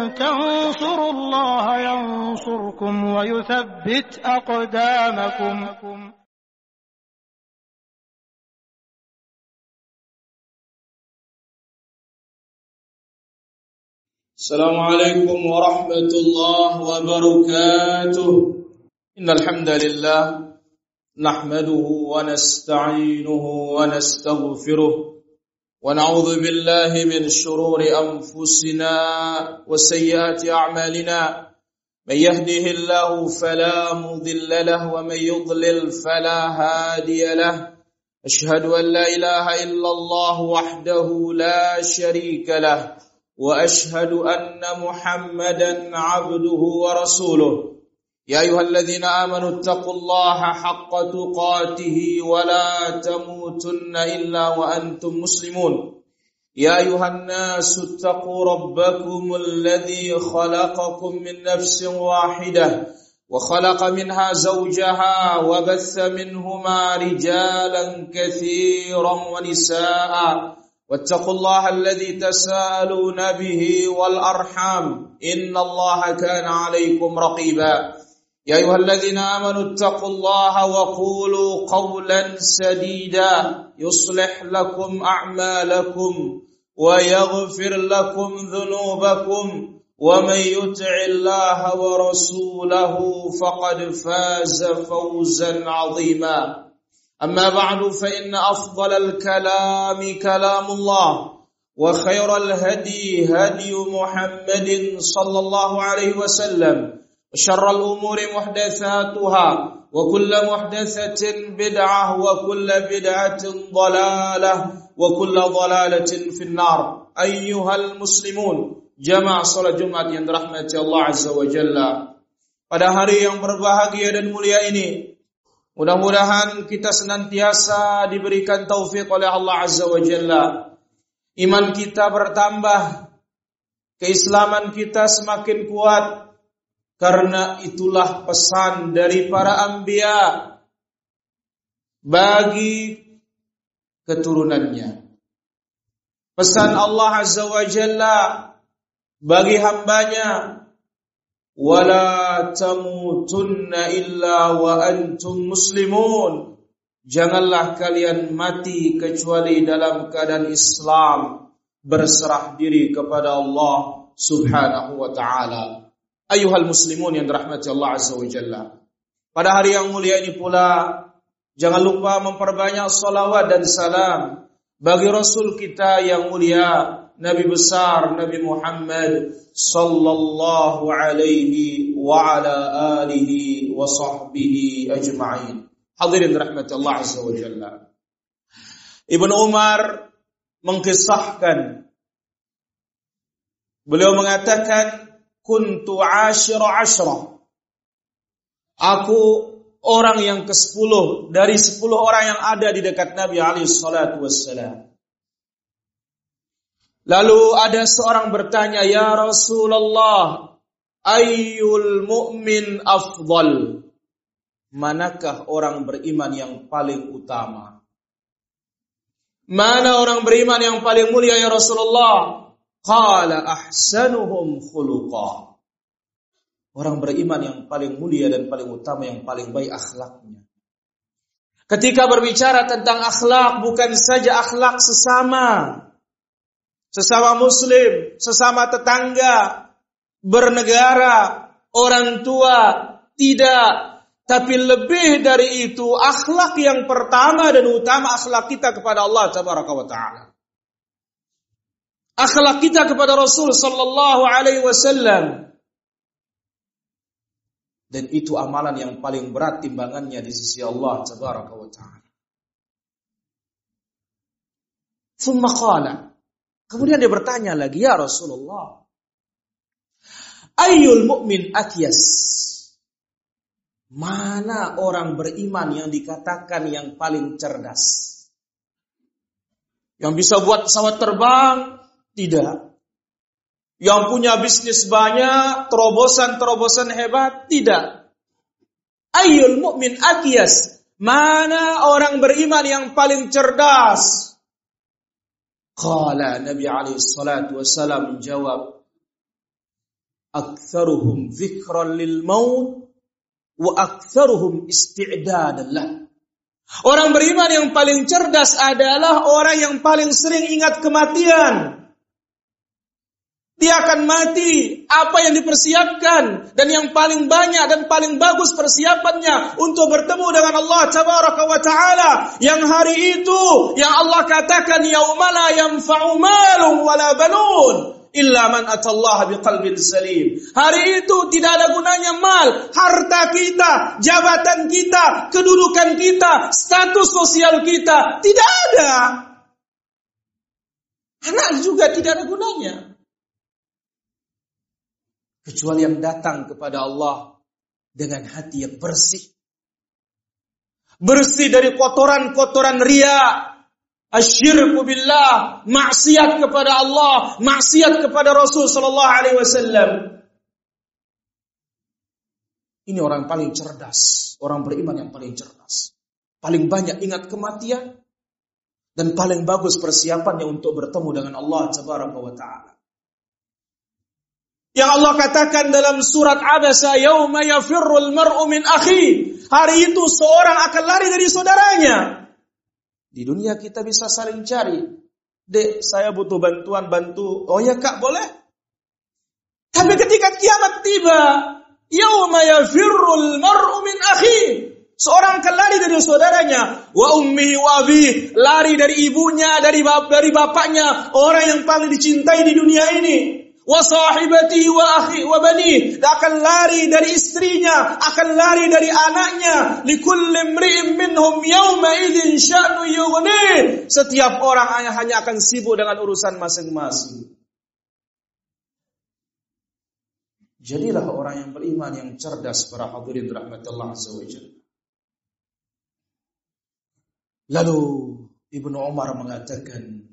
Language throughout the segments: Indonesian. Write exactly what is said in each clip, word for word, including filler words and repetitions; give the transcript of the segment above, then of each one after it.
تنصروا الله ينصركم ويثبت أقدامكم. Assalamualaikum warahmatullahi wabarakatuh. Innal hamdalillah nahmaduhu wa nasta'inuhu wa nastaghfiruh wa na'udzu billahi min shururi anfusina wa sayyiati a'malina. May yahdihillahu fala mudilla lahu wa may yudlil fala hadiya lahu. Ashhadu an la ilaha illallah wahdahu la sharika lahu وأشهد أن محمدا عبده ورسوله يا أيها الذين آمنوا اتقوا الله حق تقاته ولا تموتن إلا وأنتم مسلمون يا أيها الناس اتقوا ربكم الذي خلقكم من نفس واحدة وخلق منها زوجها وبث منهما رجالا كثيرا ونساء واتقوا الله الذي تساءلون به والأرحام إن الله كان عليكم رقيبا يا أيها الذين آمنوا اتقوا الله وقولوا قولا سديدا يصلح لكم أعمالكم ويغفر لكم ذنوبكم ومن يطع الله ورسوله فقد فاز فوزا عظيما أما بعد فإن أفضل الكلام كلام الله وخير الهدي هدي محمد صلى الله عليه وسلم وشر الأمور محدثاتها وكل محدثة بدعة وكل بدعة ضلالة وكل ضلالة في النار أيها المسلمون جماعة صلاة Jumat yang dirahmati Allah Azza wa Jalla. Pada hari yang berbahagia dan mulia ini, mudah-mudahan kita senantiasa diberikan taufik oleh Allah Azza wa Jalla. Iman kita bertambah, keislaman kita semakin kuat, karena itulah pesan dari para anbiya bagi keturunannya. Pesan Allah Azza wa Jalla bagi hambanya, wala tamutunna illa wa antum muslimun. Janganlah kalian mati kecuali dalam keadaan Islam, berserah diri kepada Allah Subhanahu wa taala. Ayuhal muslimun yang dirahmati Allah Azza wa Jalla. Pada hari yang mulia ini pula, jangan lupa memperbanyak salawat dan salam bagi Rasul kita yang mulia, Nabi besar Nabi Muhammad sallallahu alaihi wa ala alihi wa sahbihi ajma'in. Hadirin rahmat Allah Azza wa Jalla. Ibnu Umar mengkisahkan, beliau mengatakan, kuntu ashira ashra. Aku orang yang kesepuluh dari sepuluh orang yang ada di dekat Nabi alaihi salatu wassalam. Lalu ada seorang bertanya, ya Rasulullah, ayyul mu'min afdal? Manakah orang beriman yang paling utama? Mana orang beriman yang paling mulia ya Rasulullah? Qala ahsanuhum khuluqa. Orang beriman yang paling mulia dan paling utama, yang paling baik akhlaknya. Ketika berbicara tentang akhlak, bukan saja akhlak sesama, sesama muslim, sesama tetangga, bernegara, orang tua, tidak. Tapi lebih dari itu, akhlak yang pertama dan utama, akhlak kita kepada Allah Tabaraka wa Ta'ala. Akhlak kita kepada Rasul Sallallahu Alaihi Wasallam. Dan itu amalan yang paling berat timbangannya di sisi Allah Tabaraka wa Ta'ala. Thumma qala, kemudian dia bertanya lagi, ya Rasulullah, ayyul mu'min akyas? Mana orang beriman yang dikatakan yang paling cerdas? Yang bisa buat pesawat terbang? Tidak. Yang punya bisnis banyak, terobosan-terobosan hebat? Tidak. Ayyul mu'min akyas? Mana orang beriman yang paling cerdas? Qala, Nabi alaihi salatu wassalam menjawab, aktsaruhum dzikran lil maut wa aktsaruhum isti'dadan lah. Orang beriman yang paling cerdas adalah orang yang paling sering ingat kematian. Dia akan mati, apa yang dipersiapkan, dan yang paling banyak dan paling bagus persiapannya untuk bertemu dengan Allah Tabaraka wa Ta'ala. Yang hari itu, yang Allah katakan, yauma la yanfa'u malun wala banun illa man atallaha biqalbin salim. Hari itu tidak ada gunanya mal, harta kita, jabatan kita, kedudukan kita, status sosial kita, tidak ada. Anak juga tidak ada gunanya. Kecuali yang datang kepada Allah dengan hati yang bersih. Bersih dari kotoran-kotoran riya, asyirku billah, maksiat kepada Allah, maksiat kepada Rasul sallallahu alaihi wasallam. Ini orang paling cerdas, orang beriman yang paling cerdas. Paling banyak ingat kematian dan paling bagus persiapannya untuk bertemu dengan Allah Tabaraka wa Ta'ala. Yang Allah katakan dalam surat Abasa, yauma yafirrul mar'u min akhi. Hari itu seorang akan lari dari saudaranya. Di dunia kita bisa saling cari. Dek, saya butuh bantuan, bantu. Oh ya kak, boleh. Tapi ketika kiamat tiba, yauma yafirrul mar'u min akhi. Seorang akan lari dari saudaranya. Wa ummihi wa abihi. Lari dari ibunya, dari, bap- dari bapaknya. Orang yang paling dicintai di dunia ini. Wa sahibatihi wa akhi wa bani, akan lari dari istrinya, akan lari dari anaknya. Likulli imri'in minhum yawma idzin sya'nu yughni. Setiap orang hanya hanya akan sibuk dengan urusan masing-masing. Jadilah orang yang beriman yang cerdas, para hadirin rahmatullah azza wa jalla. Lalu Ibnu Umar mengatakan,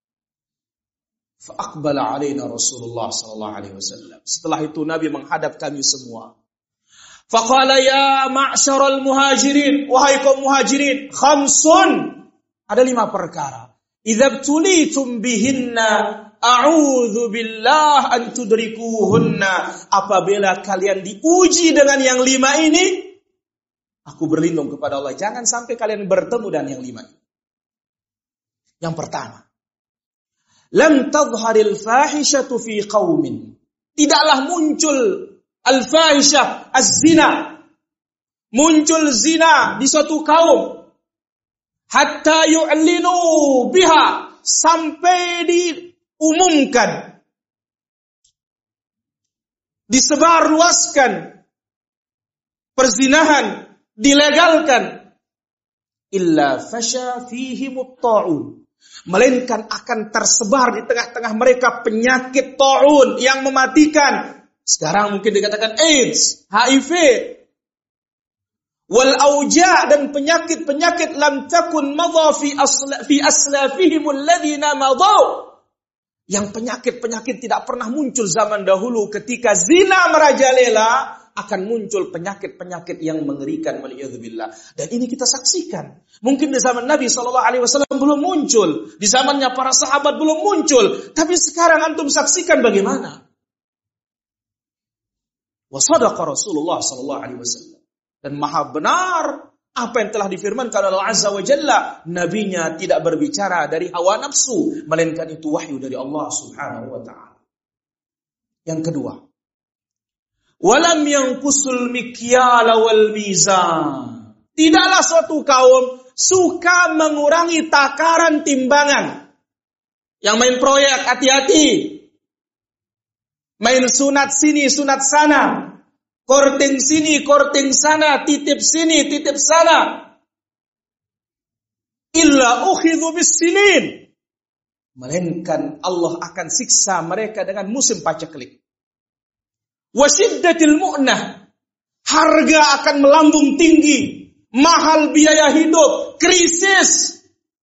Fa'aqbala alaina Rasulullah sallallahu alaihi wasallam. Setelah itu Nabi menghadap kami semua. Faqala ya ma'syaral muhajirin, wahai kaum muhajirin, khamsun, ada lima perkara. Idza btulitum bihinna a'udzu billah an tudrikuhunna. Apabila kalian diuji dengan yang lima ini, aku berlindung kepada Allah, jangan sampai kalian bertemu dengan yang lima ini. Yang pertama, lam tadhharil fahishatu fi qaumin. Tidaklah muncul al-fahisyah, az-zina. Muncul zina di suatu kaum. Hatta yu'linu biha. Sampai diumumkan. Disebarluaskan. Perzinahan. Dilegalkan. Illa fasha fihimut ta'un. Melainkan akan tersebar di tengah-tengah mereka penyakit ta'un yang mematikan. Sekarang mungkin dikatakan AIDS, H I V. Wal auja, dan penyakit-penyakit lam takun madha fi asla, fi aslafihim alladhina madau. Yang penyakit-penyakit tidak pernah muncul zaman dahulu. Ketika zina merajalela, akan muncul penyakit-penyakit yang mengerikan, waliyadzubillah. Dan ini kita saksikan. Mungkin di zaman Nabi shallallahu alaihi wasallam belum muncul. Di zamannya para sahabat belum muncul. Tapi sekarang antum saksikan bagaimana. Wa sadaqa Rasulullah shallallahu alaihi wasallam. Dan maha benar apa yang telah difirmankan oleh Allah Azza wa Jalla. Nabinya tidak berbicara dari hawa nafsu, melainkan itu wahyu dari Allah subhanahu wa ta'ala. Yang kedua, walam yanqusul mikyala wal mizan. Tidaklah suatu kaum suka mengurangi takaran timbangan. Yang main proyek, hati-hati. Main sunat sini, sunat sana. Korting sini, korting sana. Titip sini, titip sana. Illa ukhidhu bis-sinin. Melainkan Allah akan siksa mereka dengan musim paceklik. Wasiddatil mu'nah. Harga akan melambung tinggi. Mahal biaya hidup. Krisis.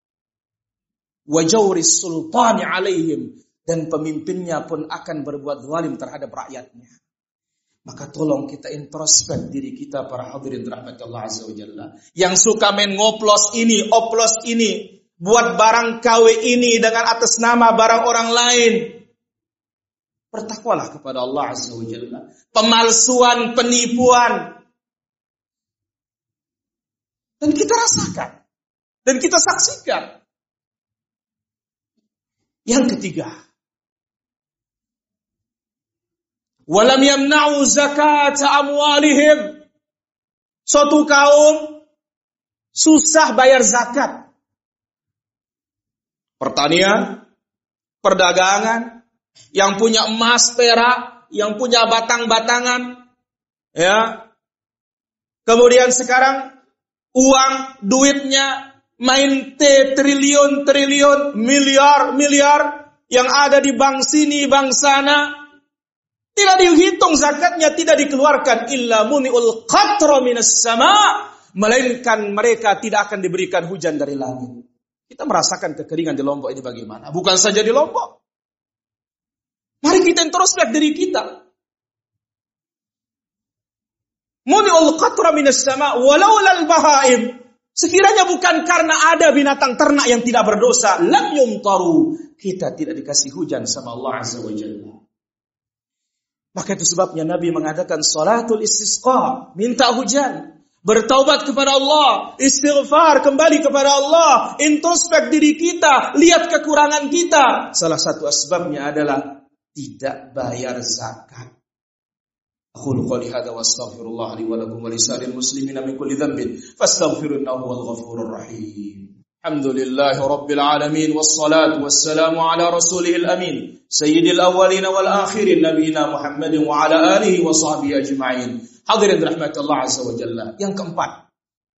Wajawris sultani alaihim. Dan pemimpinnya pun akan berbuat zalim terhadap rakyatnya. Maka tolong kita introspek diri kita, para hadirin rahmatullah azza wa jalla. Yang suka main ngoplos ini, oplos ini. Buat barang K W ini dengan atas nama barang orang lain. bertakwalah kepada Allah Azza wa Jalla. Pemalsuan, penipuan. Dan kita rasakan. Dan kita saksikan. Yang ketiga. Walam yamna'u zakata amwalihim. Suatu kaum susah bayar zakat. Pertanian, perdagangan, yang punya emas, perak, yang punya batang-batangan, ya. Kemudian sekarang uang, duitnya main T triliun-triliun, miliar-miliar yang ada di bank sini, bank sana. Tidak dihitung zakatnya, tidak dikeluarkan. Illa muni'ul qatra minas sama. Melainkan mereka tidak akan diberikan hujan dari langit. Kita merasakan kekeringan di Lombok ini bagaimana? Bukan saja di Lombok. Mari kita introspek diri kita. Muni'ul qatra minas sama. Walaulal bahaim. Sekiranya bukan karena ada binatang ternak yang tidak berdosa. Lam yumtaru. Kita tidak dikasih hujan sama Allah Azza wa Jalla. Maka itu sebabnya Nabi mengadakan salatul istisqa, minta hujan, bertaubat kepada Allah, istighfar, kembali kepada Allah, introspek diri kita, lihat kekurangan kita. Salah satu asbabnya adalah tidak bayar zakat. Aqulu qouli hadza wa astaghfirullah li wa lakum wa lisa'iril muslimina min kulli dhanbin fastaghfiruhu innahu huwal ghafurur rahim. Alhamdulillahi rabbil alamin wassalatu wassalamu ala rasulihil amin sayyidil awwalin wal akhirin nabiyina Muhammadin wa ala alihi wa sahbihi ajma'in. Hadirin rahmatillah azza wa jalla. Yang keempat,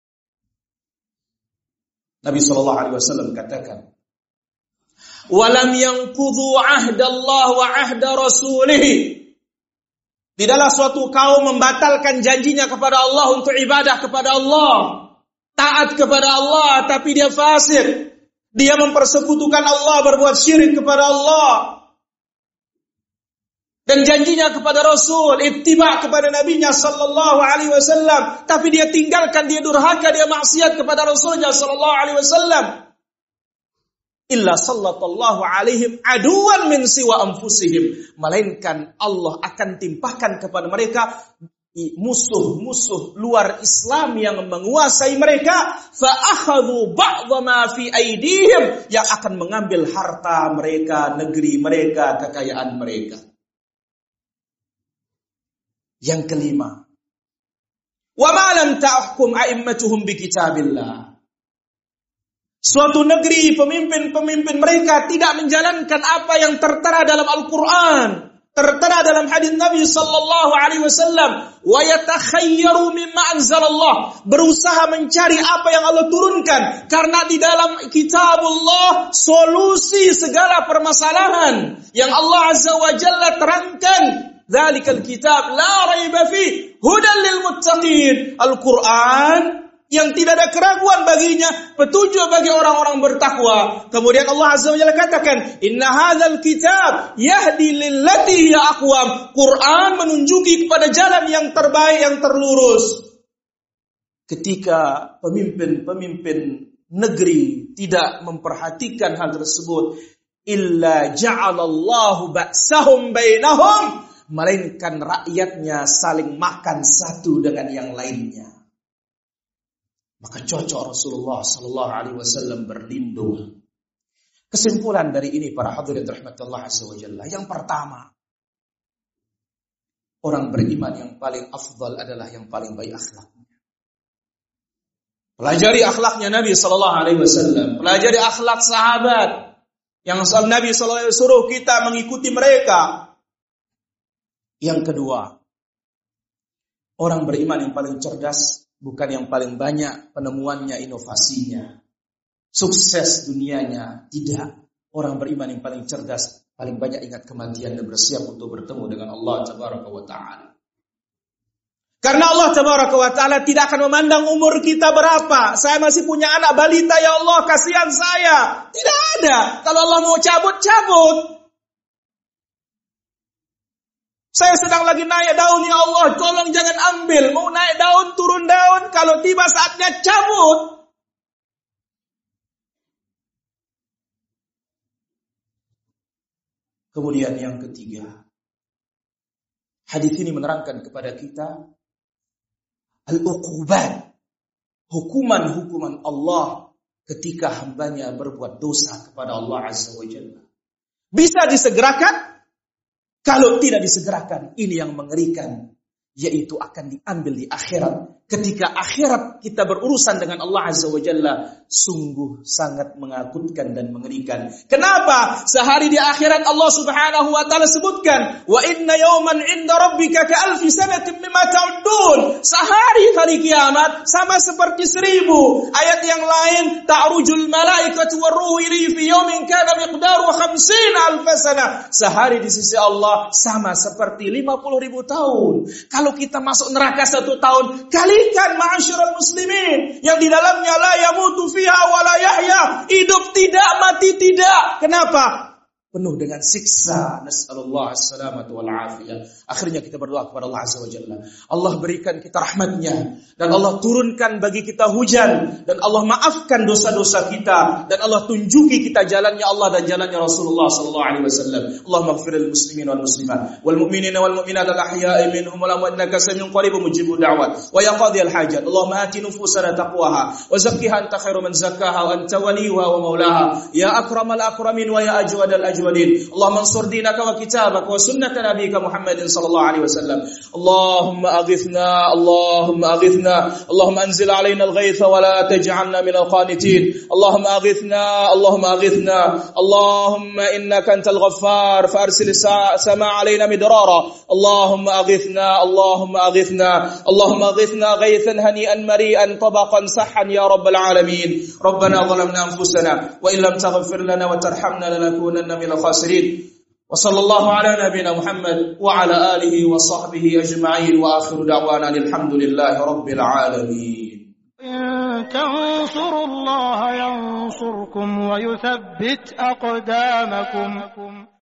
Nabi sallallahu alaihi wasallam katakan, "Walam yanqudhu ahdallah wa ahda rasulih." Tidaklah suatu kaum membatalkan janjinya kepada Allah untuk ibadah kepada Allah, taat kepada Allah, tapi dia fasik. Dia mempersekutukan Allah, berbuat syirik kepada Allah. Dan janjinya kepada Rasul, ittiba kepada Nabinya sallallahu alaihi wasallam, tapi dia tinggalkan, dia durhaka, dia maksiat kepada Rasulnya sallallahu alaihi wasallam. Illa sallallahu alaihim aduwan min siwa anfusihim. Melainkan Allah akan timpahkan kepada mereka musuh-musuh luar Islam yang menguasai mereka, fa akhadhu ba'dha ma fi aydihim, yang akan mengambil harta mereka, negeri mereka, kekayaan mereka. Yang kelima, wa ma lam tahkum a'immatuhum bi kitabillah. Suatu negeri, pemimpin-pemimpin mereka tidak menjalankan apa yang tertera dalam Al-Quran, tertera dalam hadis Nabi sallallahu alaihi wasallam, wa yatakhayyaru mimma anzalallah, berusaha mencari apa yang Allah turunkan, karena di dalam kitabullah solusi segala permasalahan yang Allah azza wa jalla terangkan. Dzalikal kitab la raiba fi hudan lil muttaqin. Al-Qur'an yang tidak ada keraguan baginya, petunjuk bagi orang-orang bertakwa. Kemudian Allah Azza wa Jalla katakan, "Inna hadzal kitab yahdi lillati hiya aqwam." Quran menunjuki kepada jalan yang terbaik, yang terlurus. Ketika pemimpin-pemimpin negeri tidak memperhatikan hal tersebut, illa ja'alallahu ba'sahum bainahum, melainkan rakyatnya saling makan satu dengan yang lainnya. Maka cocok Rasulullah sallallahu alaihi wasallam berlindung. Kesimpulan dari ini para hadirin rahmatullah azza wa jalla. Yang pertama, orang beriman yang paling afdal adalah yang paling baik akhlaknya. Pelajari akhlaknya Nabi sallallahu alaihi wasallam, pelajari akhlak sahabat yang Nabi sallallahu alaihi wasallam suruh kita mengikuti mereka. Yang kedua, orang beriman yang paling cerdas bukan yang paling banyak penemuannya, inovasinya, sukses dunianya. Tidak. Orang beriman yang paling cerdas, paling banyak ingat kematian dan bersiap untuk bertemu dengan Allah Tabaraka wa Ta'ala. Karena Allah Tabaraka wa Ta'ala tidak akan memandang umur kita berapa. Saya masih punya anak balita, ya Allah, kasihan saya. Tidak ada. Kalau Allah mau cabut, cabut. Saya sedang lagi naik daun, ya Allah, tolong jangan ambil. Mau naik daun, turun daun. Kalau tiba saatnya, cabut. Kemudian yang ketiga, Hadis ini menerangkan kepada kita al-uqubat, hukuman-hukuman Allah ketika hambanya berbuat dosa kepada Allah Azza wa Jalla. Bisa disegerakan, kalau tidak disegerakan, ini yang mengerikan, yaitu akan diambil di akhirat. Ketika akhirat kita berurusan dengan Allah Azza wa Jalla, sungguh sangat menakutkan dan mengerikan. Kenapa? Sehari di akhirat Allah Subhanahu wa taala sebutkan, wa inna yawman 'inda rabbika ka'alfi sanatin mimma ta'uddun. Sehari hari kiamat sama seperti seribu. Ayat yang lain, ta'rujul malaikatu war-ruhu ilayhi fi yawmin kana miqdaruhu khamsina alf sana. Sehari di sisi Allah sama seperti lima puluh ribu tahun. Kalau kita masuk neraka satu tahun, kali kan ma'asyiral muslimin yang di dalamnya la yamutu fiha wa la yahya, hidup tidak, mati tidak. Kenapa? Penuh dengan siksa. Nas'alullah as-salamatu wal afiyah. Akhirnya kita berdoa kepada Allah Azza wa Jalla. Allah berikan kita rahmatnya, dan Allah turunkan bagi kita hujan, dan Allah maafkan dosa-dosa kita, dan Allah tunjuki kita jalannya Allah dan jalannya Rasulullah sallallahu alaihi wasallam. Allahumma ighfir lil muslimin wal muslimat wal mu'minina wal mu'minat al ahya'i minhum wal amwat innaka samiun qaribun mujibud da'wat wa ya qadhiyal hajat. Allahumma ati nufusana taqwaha wa zakkiha anta khairu man zakkaha wa anta waliyuha wa maulaha ya akramal akramin wa ya ajwadal ajwadin. Allahumma ansur dinaka wa kitabaka wa sunnata nabiyika Muhammadin sallallahu alaihi wasallam. Allahumma aghithna, Allahumma aghithna, Allahumma anzil alaina al-ghaytha wa la taj'alna min al-qanitin. Allahumma aghithna, Allahumma aghithna, Allahumma innaka antal ghaffar farsil as-samaa alaina midrara. Allahumma aghithna, Allahumma aghithna, Allahumma aghithna ghaythan hani'an mari'an tabaqan sahhan ya rabbal alamin. Rabbana zalamna anfusana wa in lam taghfir lana wa tarhamna lanakunanna min الخاسرين وصلى الله على نبينا محمد وعلى آله وصحبه أجمعين وآخر دعوانا الحمد لله رب العالمين. إن تنصروا الله ينصركم ويثبت أقدامكم.